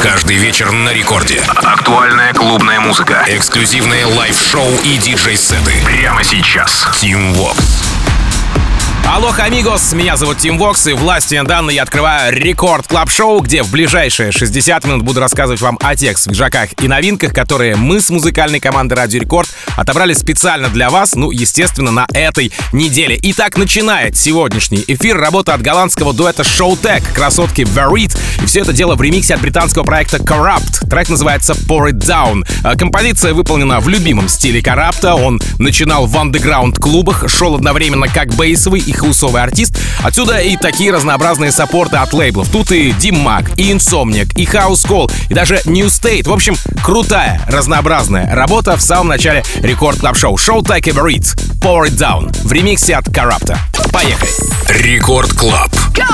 Каждый вечер на рекорде. Актуальная клубная музыка. Эксклюзивные лайв-шоу и диджей-сеты. Прямо сейчас. Team Vox. Алоха, амигос, меня зовут Тим Вокс, и власти данные я открываю Рекорд Клаб Шоу, где в ближайшие 60 минут буду рассказывать вам о тех свежаках и новинках, которые мы с музыкальной командой Радио Рекорд отобрали специально для вас, естественно, на этой неделе. Итак, начинает сегодняшний эфир работа от голландского дуэта Showtek, красотки Verit, и все это дело в ремиксе от британского проекта Corrupt. Трек называется Pour It Down. Композиция выполнена в любимом стиле Corrupt. Он начинал в андеграунд-клубах, шел одновременно как бейсовый и хаусовый артист. Отсюда и такие разнообразные саппорты от лейблов. Тут и Dim-Mak, и Insomniac, и House Call, и даже New State. В общем, крутая, разнообразная работа в самом начале Рекорд Клаб Шоу. Showtek и Verit, Pour It Down в ремиксе от Corrupt. Поехали! Рекорд Клаб.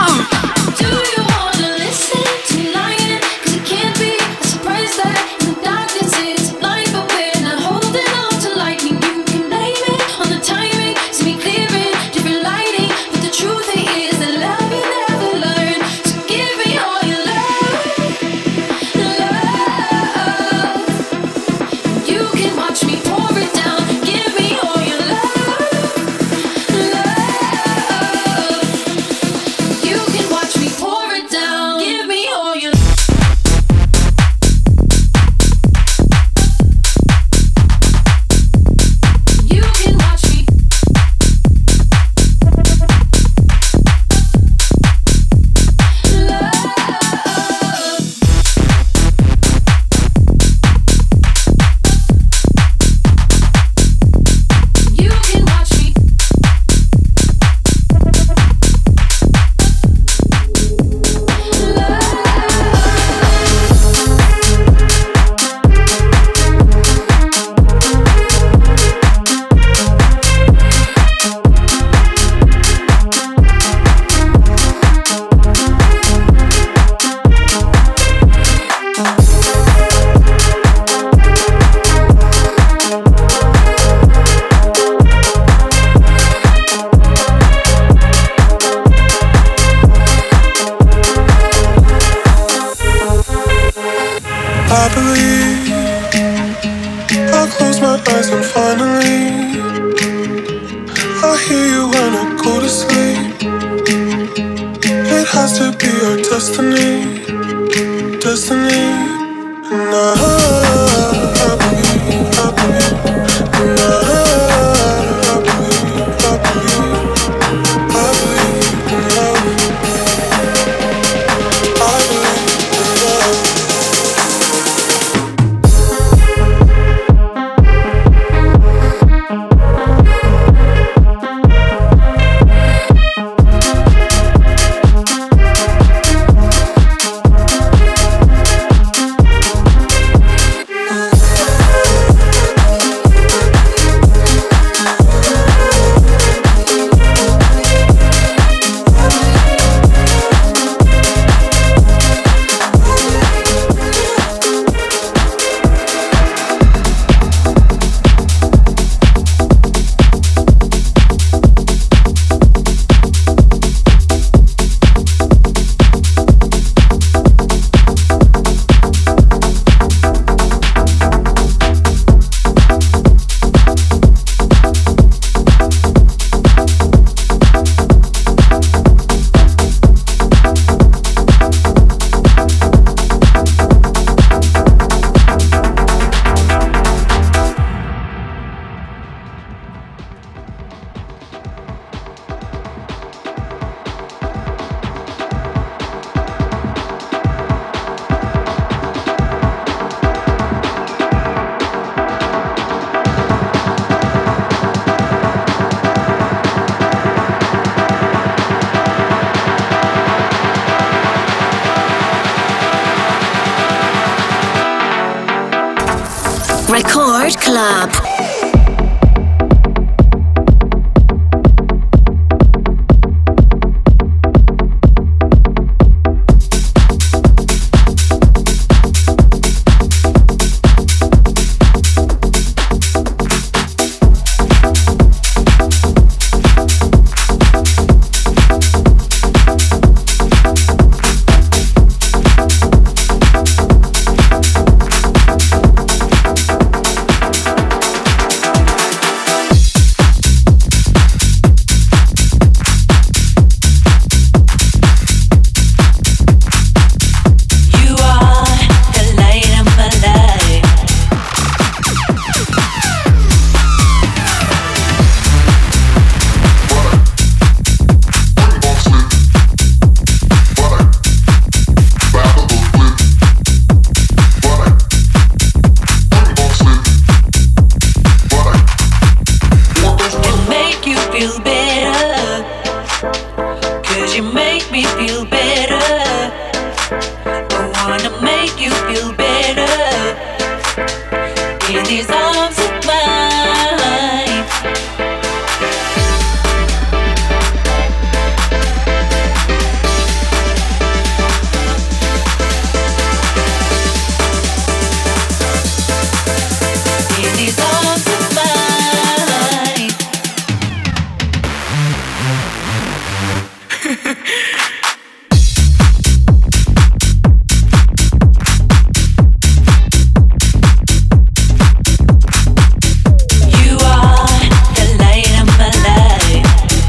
Record Club. gonna make you feel better in these arms of mine. In these arms of mine. You are the light of my life.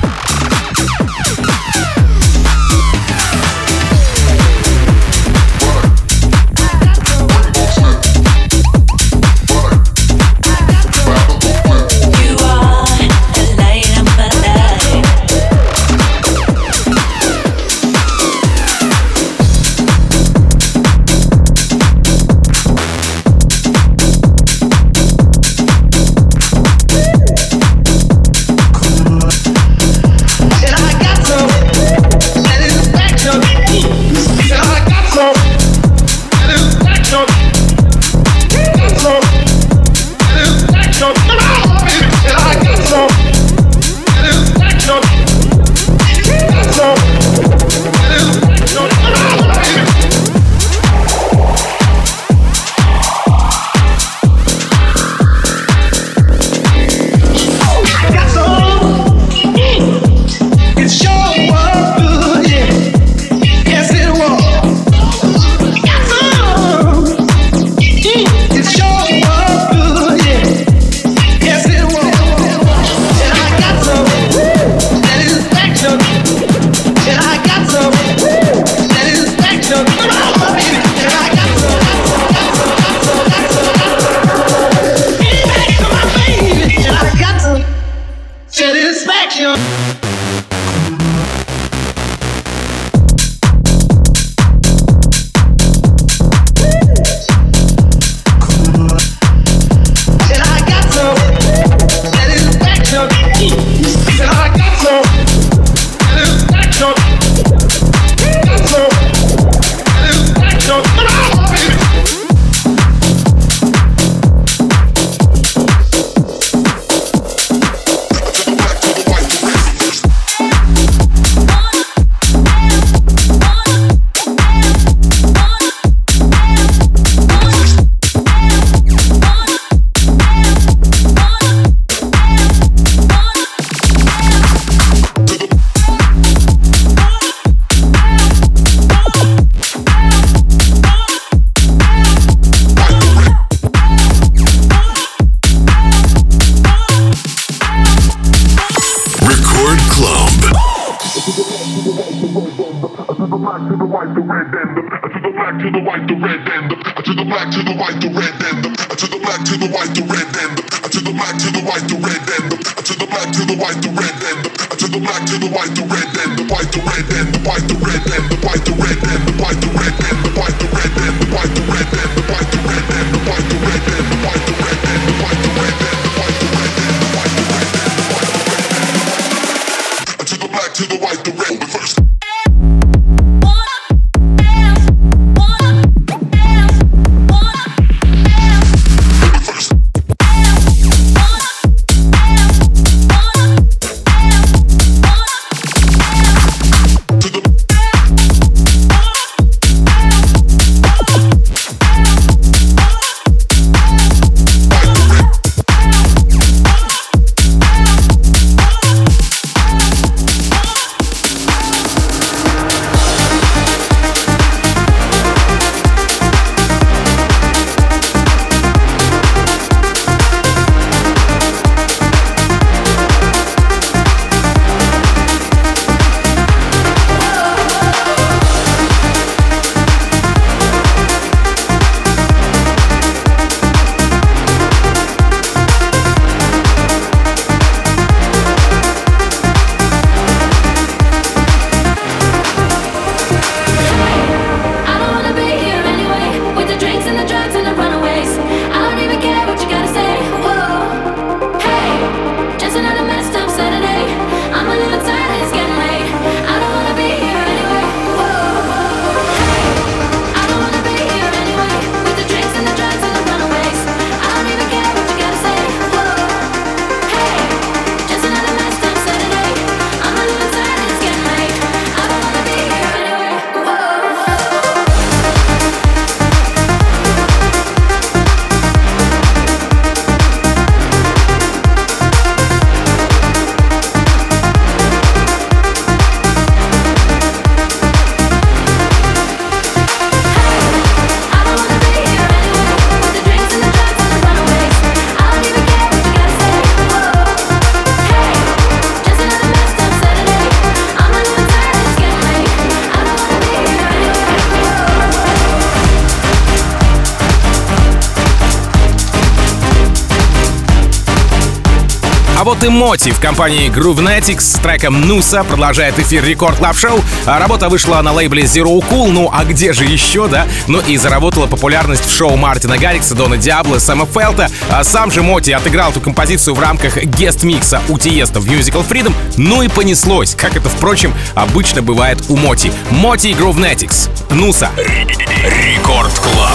You are the light of my life. And I got some satisfaction. And I got some satisfaction. Got some satisfaction. Come on, baby. And I got some satisfaction. Got some satisfaction. Come on, baby. Got some. It sure was good, yeah. Yes, it was. Got some. It sure was good, yeah. Yes, it was. And I got some satisfaction. And I got some satisfaction. Come on, baby. And I got some. Come on, baby. And I got some satisfaction. And I got some satisfaction. And I got some satisfaction. Got some satisfaction. Come on, baby. Record Club. To the black, to the white, the red, and the to the black, to the white, the red, and the to the black, to the white, the red, and the to the black, to the white, the red, and the to the black, to the white, the red, and the to the black, to the white, the red, and the to the black, to the white, the red, and the white, the red, and the white, the red, and the white, the red, and the white, the red, and the white, the red, and the white, the red, and the white, the red, and the white, the red, and the white, the red, and the white, the red, and the white, the red, and the white, the red, and the white, the red, to the black, to the white, the red, first. А вот и Моти в компании Groovenetics с треком «Nusa» продолжает эфир Рекорд Клаб Шоу. Работа вышла на лейбле Zero Cool, ну а где же еще, да? Ну и заработала популярность в шоу Мартина Гаррикса, Дона Диабло, Сэма Фелта. А сам же Моти отыграл эту композицию в рамках гест-микса у Тиеста в Musical Freedom. Ну и понеслось, как это, впрочем, обычно бывает у Моти. Моти и Groovenetics. «Nusa». Рекорд Клаб.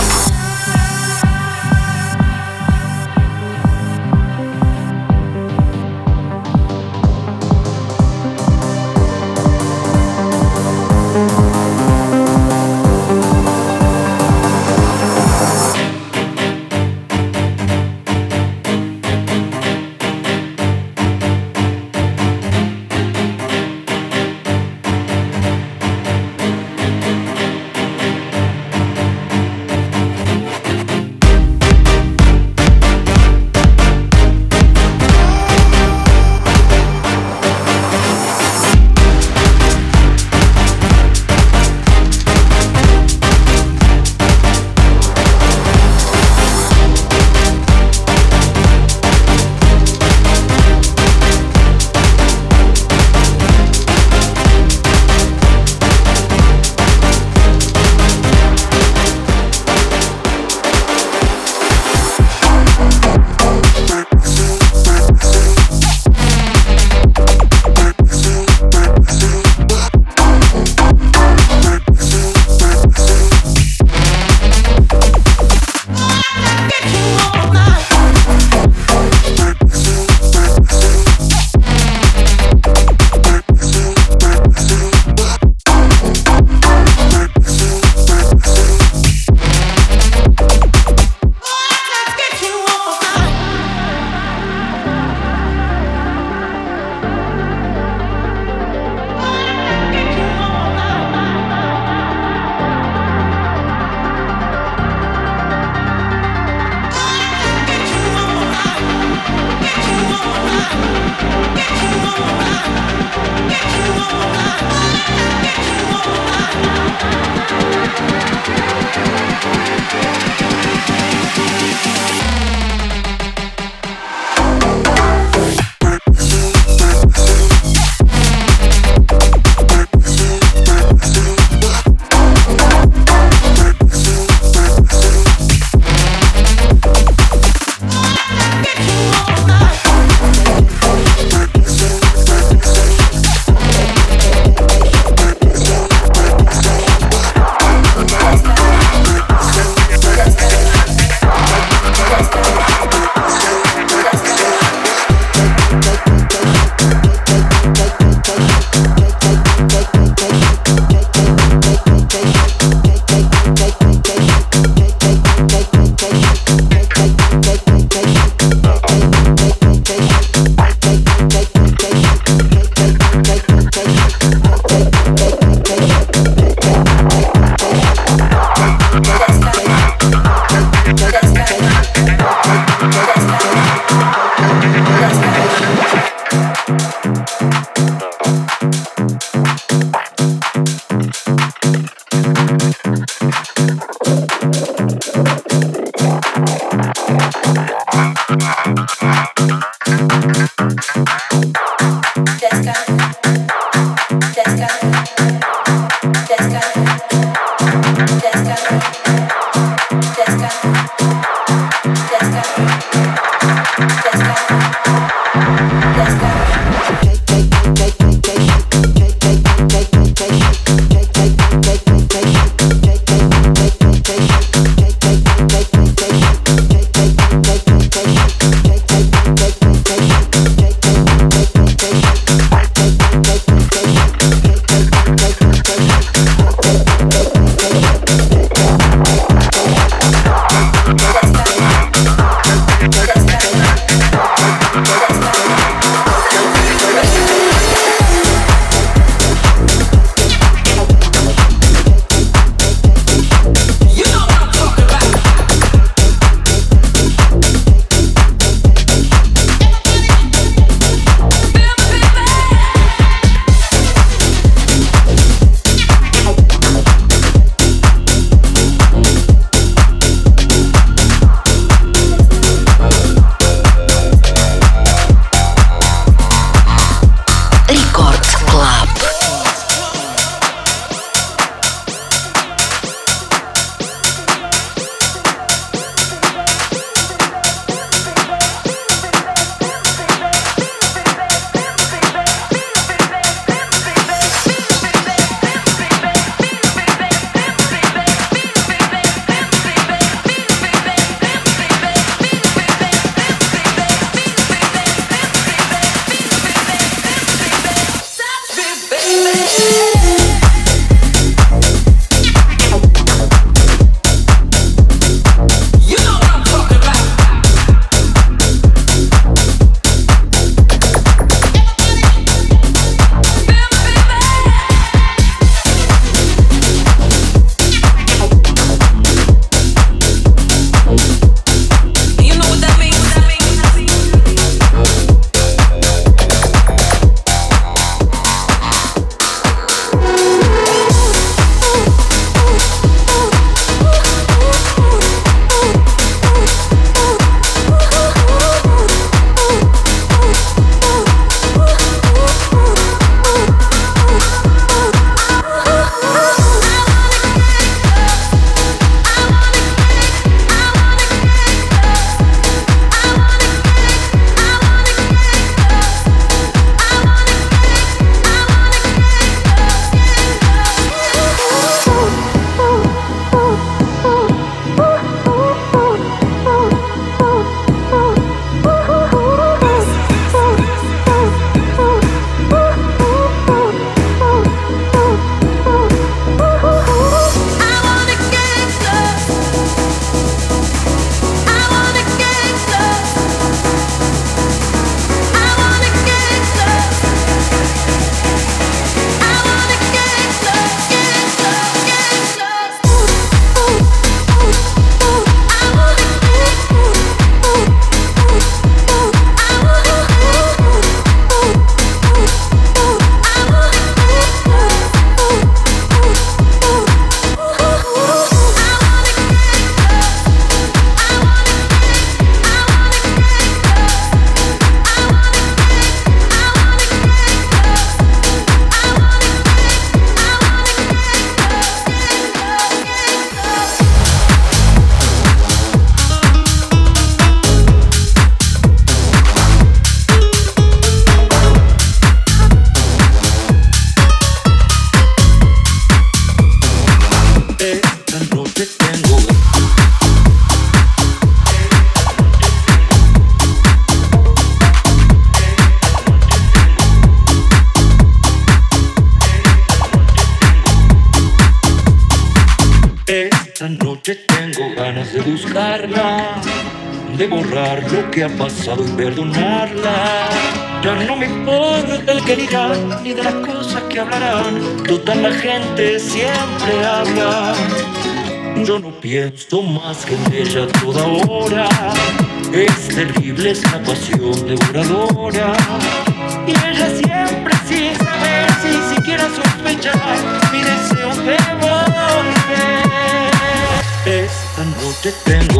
noche tengo ganas de buscarla, de borrar lo que ha pasado y perdonarla. Ya no me importa el que dirán, ni de las cosas que hablarán. Total, la gente siempre habla. Yo no pienso más que en ella a toda hora. Es terrible, es una pasión devoradora. Y ella siempre sin saber, sin siquiera sospechar, mi deseo de volver. Esta noche tengo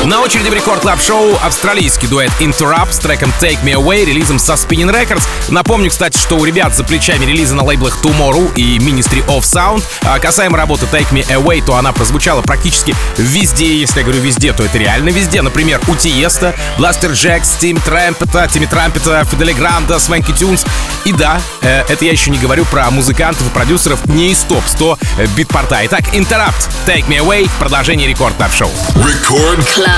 На очереди в Рекорд Клаб Шоу австралийский дуэт Interrupt с треком Take Me Away, релизом со Spinning Records. Напомню, кстати, что у ребят за плечами релизы на лейблах Tomorrow и Ministry of Sound. А касаемо работы Take Me Away, то она прозвучала практически везде. Если я говорю везде, то это реально везде. Например, у Тиеста, Blaster Jacks, Тимми Трампета, Фидели Гранда, Свенки Тюнс. И да, это я еще не говорю про музыкантов и продюсеров не из топ-100 битпорта. Итак, Interrupt, Take Me Away, продолжение Рекорд Клаб Шоу. Рекорд Club.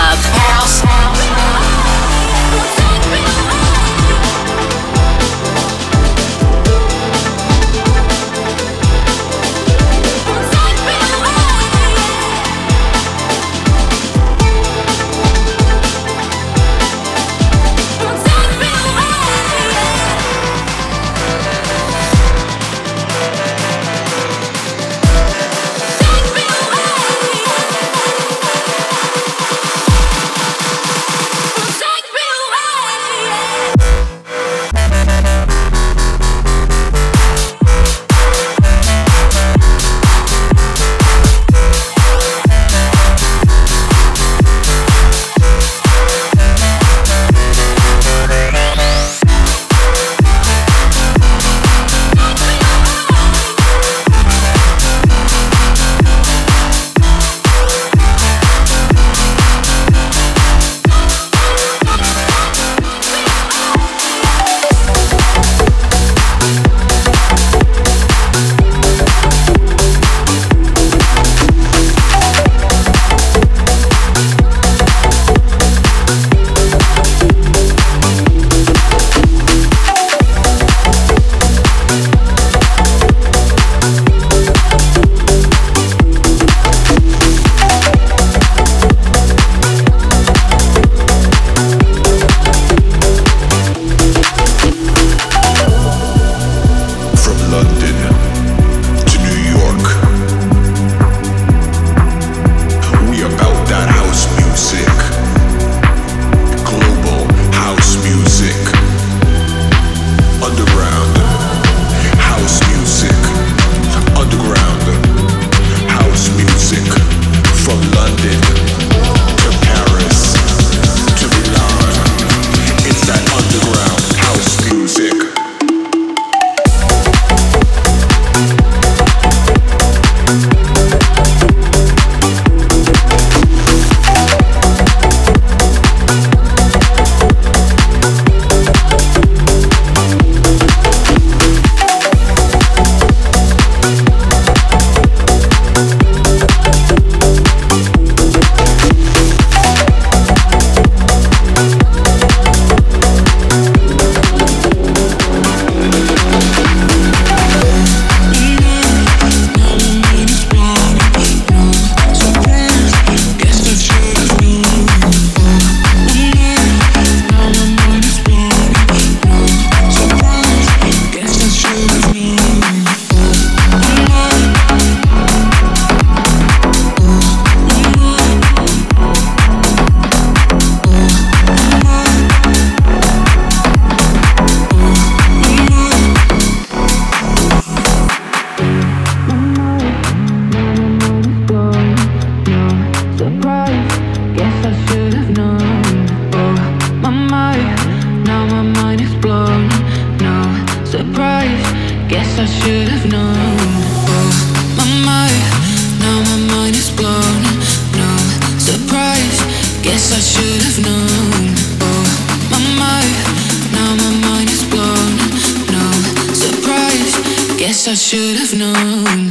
I should have known.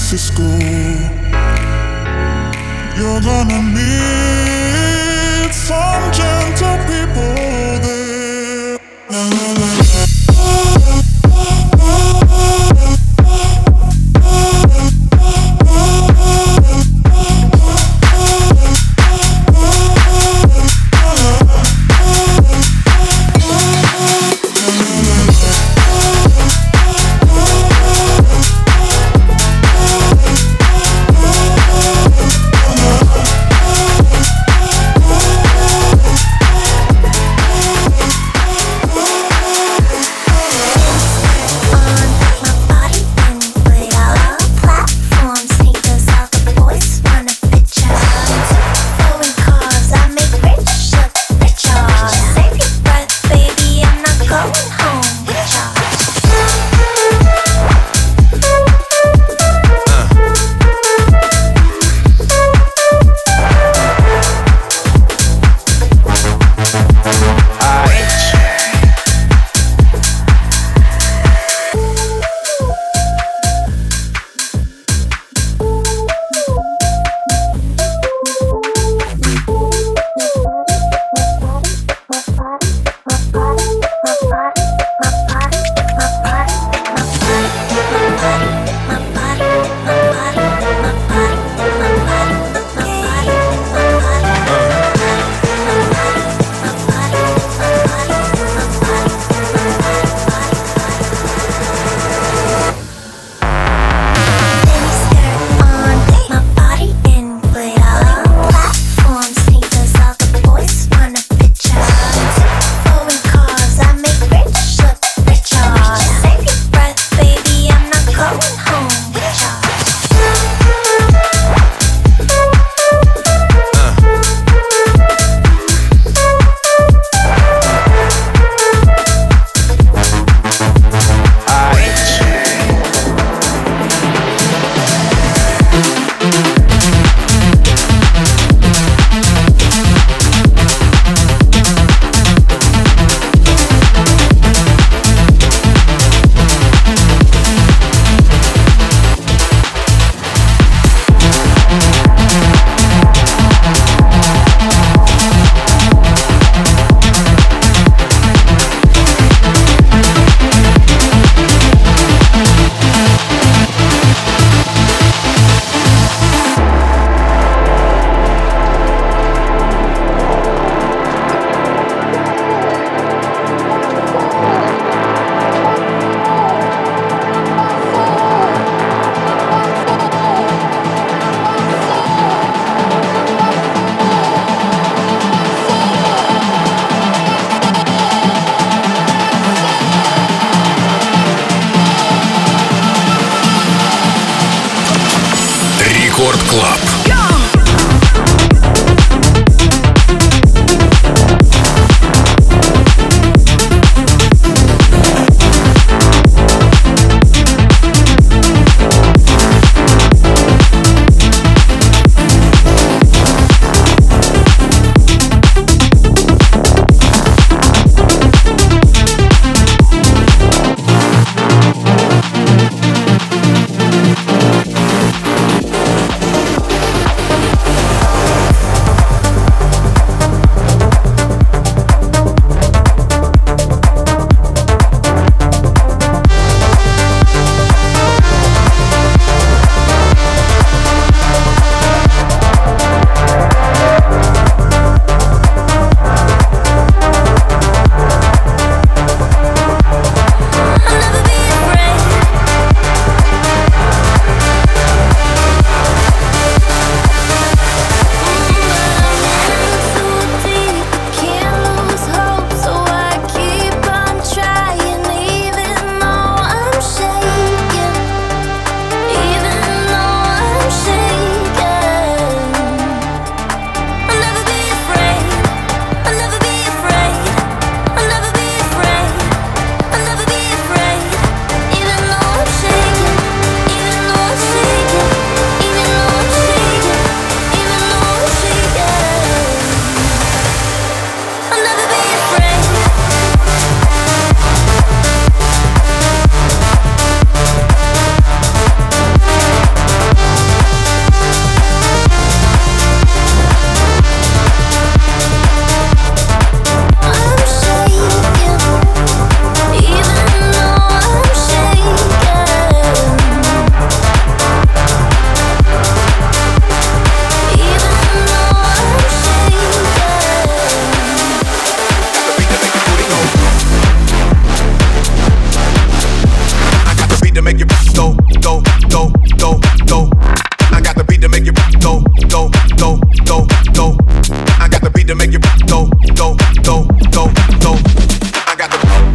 Francisco. You're gonna meet some gentle people there. La, la, la. to make you go, go, go, go, go. I got the beat to make you go, go, go, go, go. I got the beat to make you go, go, go, go, go. I got the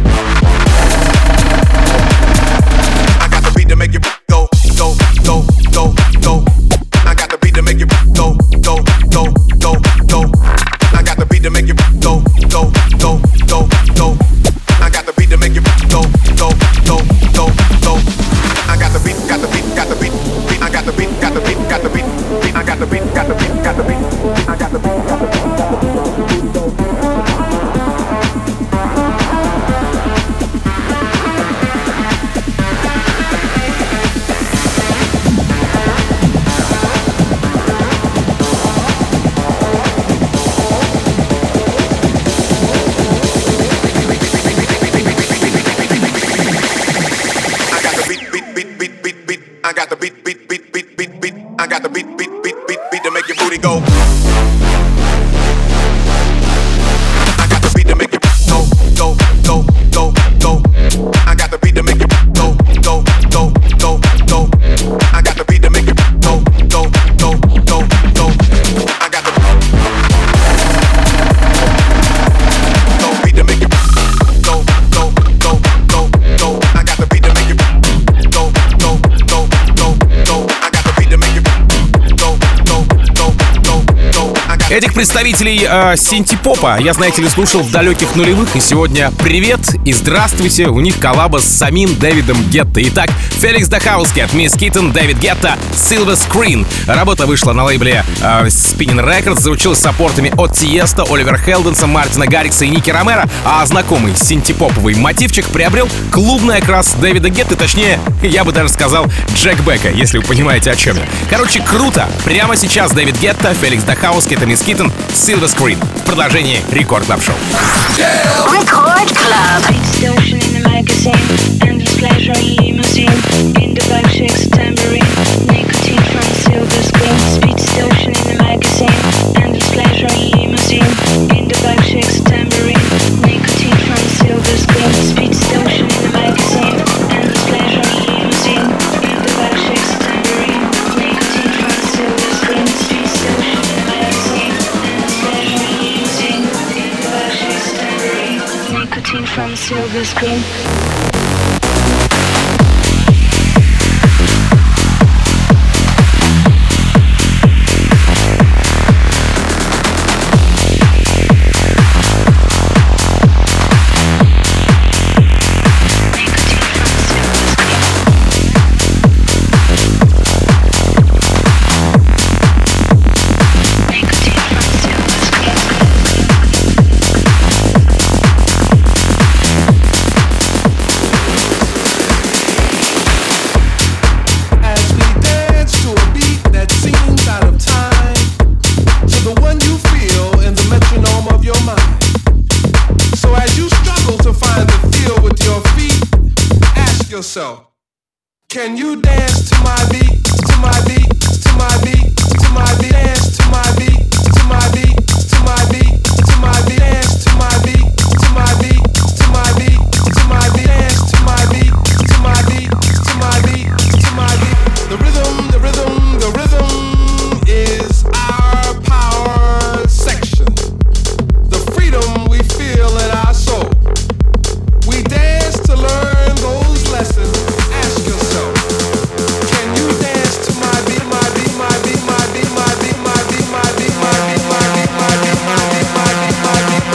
beat to make you go, go, go, go, go. I got the beat to make you go, go, go, go, go. I got the beat to make you go, go, go, go, go. I got the beat to make you go, go, go, go, go. I got the beat, got the beat, got the beat. I got the beat, got the beat, got the beat. I got the beat, got the beat, got the beat. I got the beat, got the beat, got the beat. I got the beat, beat, beat, beat, beat, beat. I got the beat, beat, beat, beat, beat to make your booty go. I got the beat to make you go, go, go, go, go. I got the beat to make you go, go, go, go, go. I got the beat to make you go, go, go, go, go. I got the beat to make you go, go, go, go, go. I got the beat to make you go, go, go, go, go. I got the beat to make you go, go, go, go, go. Этих представителей синти-попа я, знаете ли, слушал в далеких нулевых, и сегодня привет и здравствуйте, у них коллаба с самим Дэвидом Гетто. Итак, Феликс Дахауски, Мисс Киттен, Дэвид Гетто, Silver Screen. Работа вышла на лейбле Spinning Records, заручилась саппортами от Тиеста, Оливера Хелденса, Мартина Гаррикса и Ники Ромеро, а знакомый синти-поповый мотивчик приобрел клубный окрас Дэвида Гетто, точнее, я бы даже сказал Джек Бека, если вы понимаете, о чем я. Короче, круто! Прямо сейчас Дэвид Гетто, Феликс Дахауски, это Мисс Киттен, Silver Screen в продолжении Рекорд Клаб Шоу. Record Club. Distortion in the magazine, endless pleasure limousine, in the vibe shakes a tambourine, nicotine from silver screen, speed distortion in the magazine, endless pleasure limousine, in the vibe shakes a tambourine, nicotine from silver screen, speed distortion in the magazine, endless pleasure limousine, in the vibe shakes a tambourine, nicotine from silver screen, speed distortion in the magazine, endless pleasure limousine, in the vibe shakes a tambourine, nicotine from silver screen. Can you dance to my beat, to my beat, to my beat, to my beat, dance to my beat, to my beat, to my beat, to my beat, dance to my beat, to my beat, to my beat, to my beat, dance to my beat, to my beat, to my beat, to my beat. The rhythm, the rhythm, the rhythm is our power section. The freedom we feel in our soul. We dance to learn those lessons. Ask yourself, can you dance to my beat, my beat, my beat, my beat, my beat, my beat, my beat, my beat, my beat, my beat, my beat, my beat, my beat, my beat, my beat,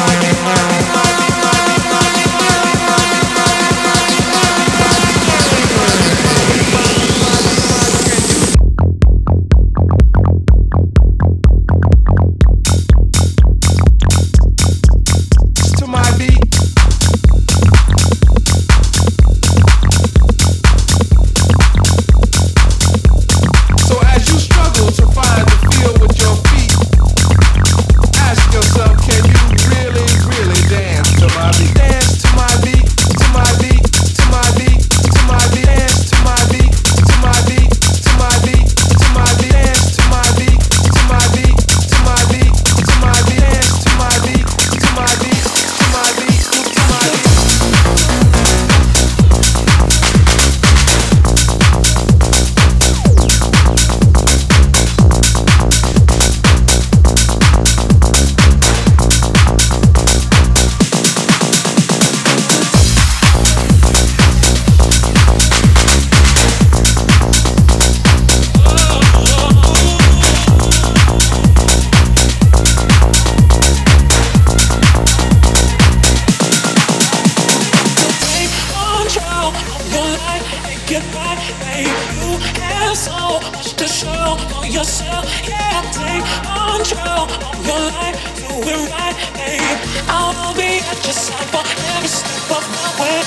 your life and get right, babe. You have so much to show for yourself. Yeah, take control of your life, do it right, babe. I will be at your side for every step of the way.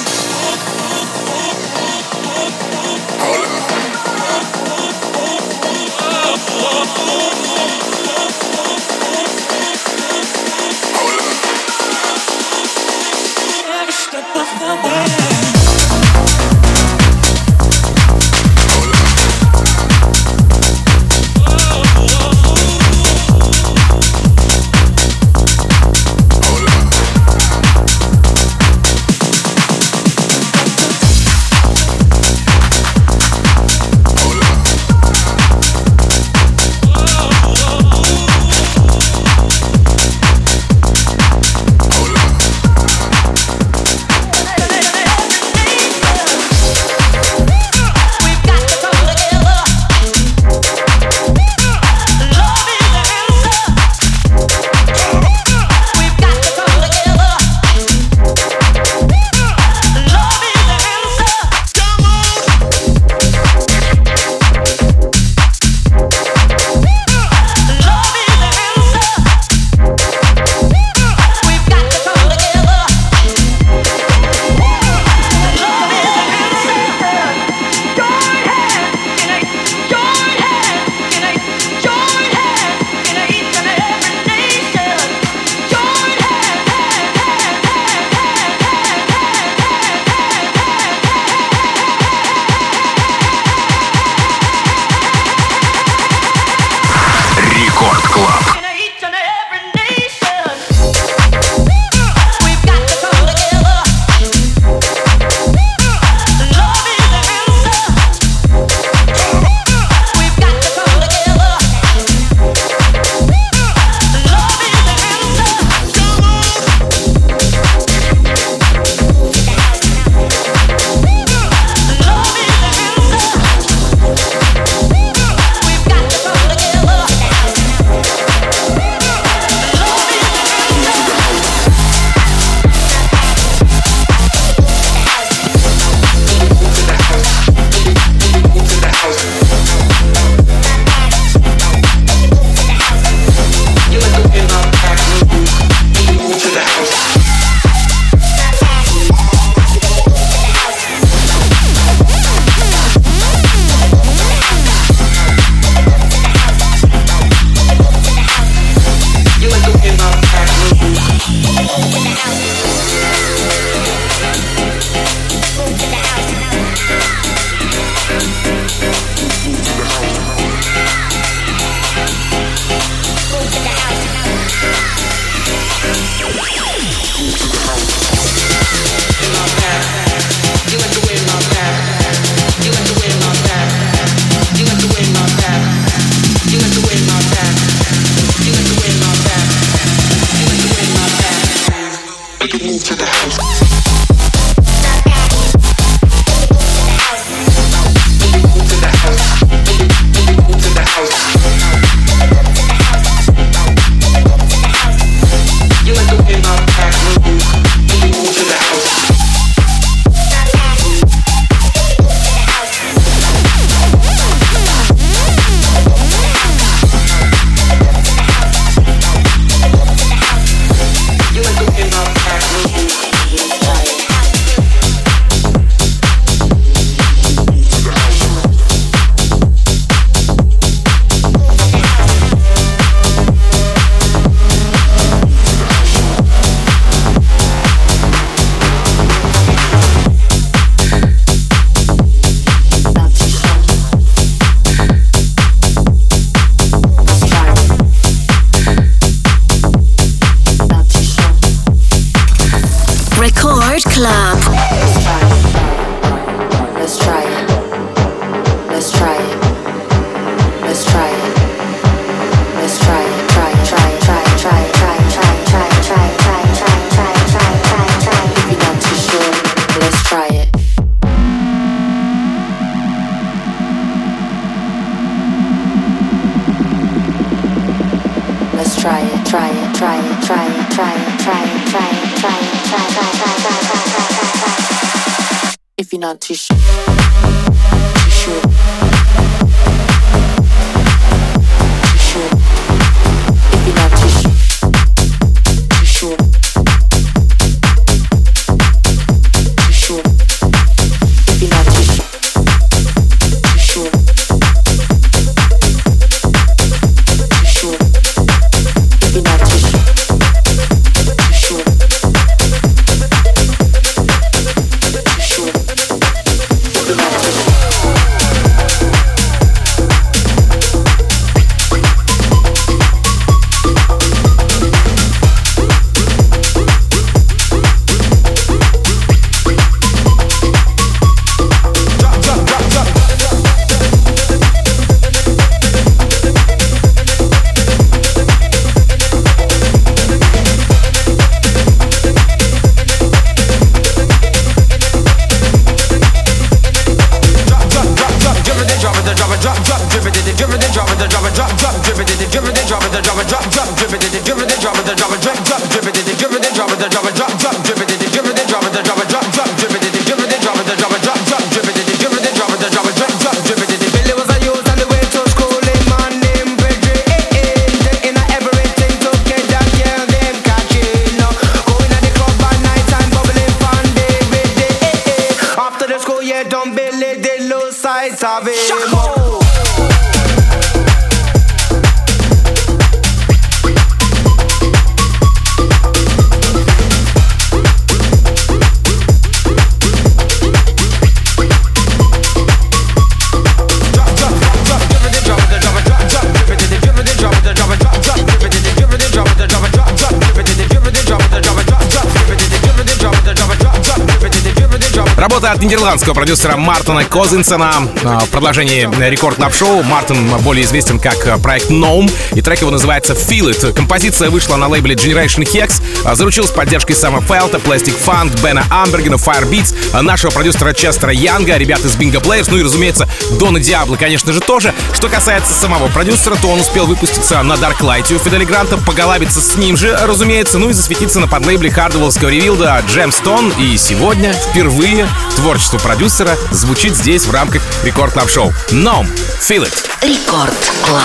Every step of the way. if you're not too sure. Too sure. Too sure. If you're not too sure. Too sure. Too sure. If you're not too sure. Too sure. Too sure. If you're not too sure. Работа от нидерландского продюсера Мартина Козинсона в продолжении Рекорд Клаб Шоу. Мартин более известен как проект Gnome, и трек его называется Feel It. Композиция вышла на лейбле Generation Hex, заручилась поддержкой Сэма Фелта, Plastic Funk, Бена Амбергена, Firebeats, нашего продюсера Честера Янга, ребят из Bingo Players, ну и, разумеется, Дона Диабло, конечно же, тоже. Что касается самого продюсера, то он успел выпуститься на Darklight у Фидели Гранта, поголабиться с ним же, разумеется, ну и засветиться на подлейбле хардвеллского ревилда Джемстон. И сегодня впервые творчество продюсера звучит здесь в рамках Рекорд Клаб Шоу. Gnome, Feel It. Рекорд Клаб.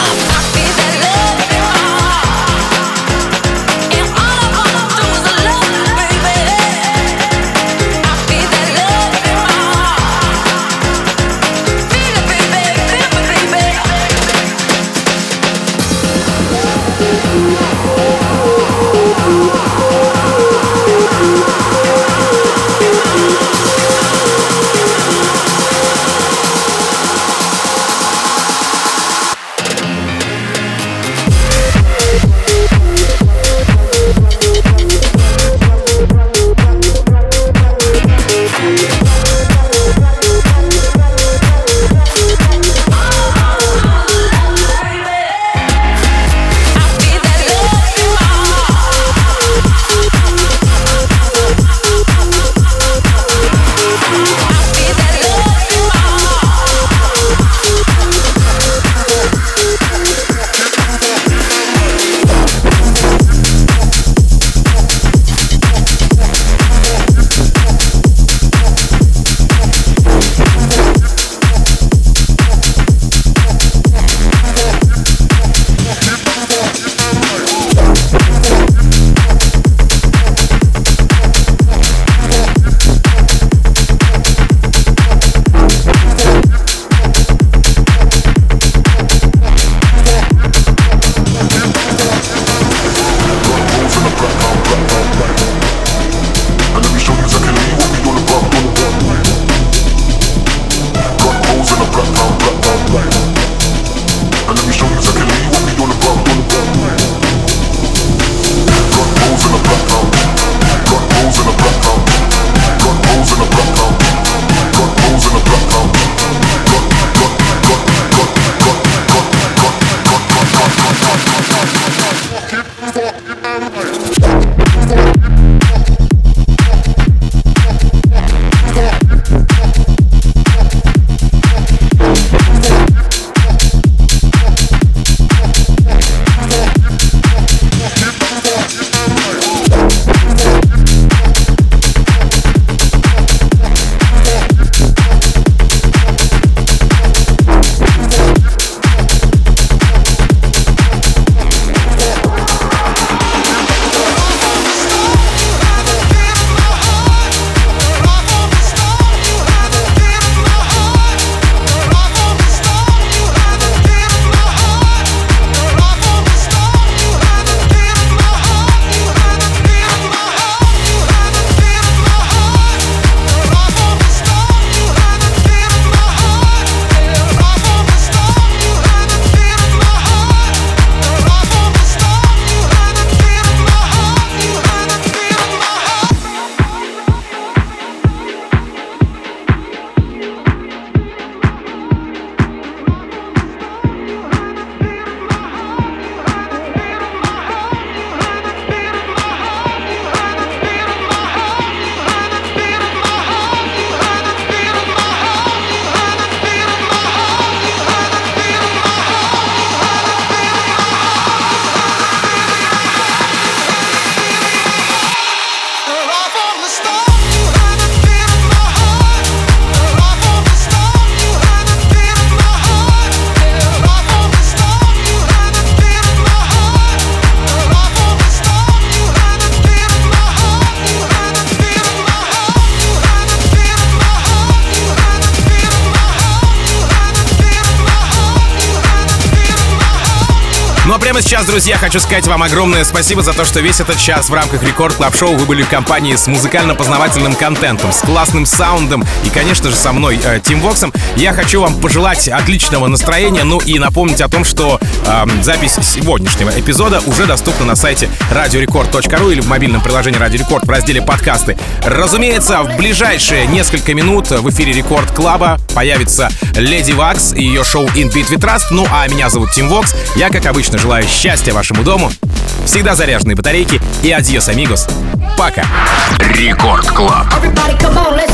прямо сейчас, друзья, хочу сказать вам огромное спасибо за то, что весь этот час в рамках Рекорд Клаб Шоу вы были в компании с музыкально-познавательным контентом, с классным саундом и, конечно же, со мной, Тим Воксом. Я хочу вам пожелать отличного настроения, ну и напомнить о том, что запись сегодняшнего эпизода уже доступна на сайте radiorecord.ru или в мобильном приложении Радио Рекорд в разделе «Подкасты». Разумеется, в ближайшие несколько минут в эфире Рекорд Клаба появится Леди Вакс и ее шоу In Beat with Trust. Ну а меня зовут Тим Вокс. Я, как обычно, желаю счастья вашему дому, всегда заряженные батарейки и адьос, амигос. Пока. Рекорд Клаб.